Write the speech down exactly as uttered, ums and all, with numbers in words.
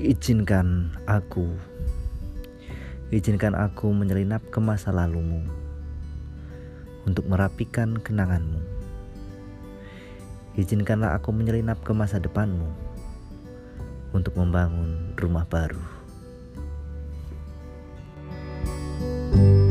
Izinkan aku, izinkan aku menyelinap ke masa lalumu untuk merapikan kenanganmu. Izinkanlah aku menyelinap ke masa depanmu untuk membangun rumah baru.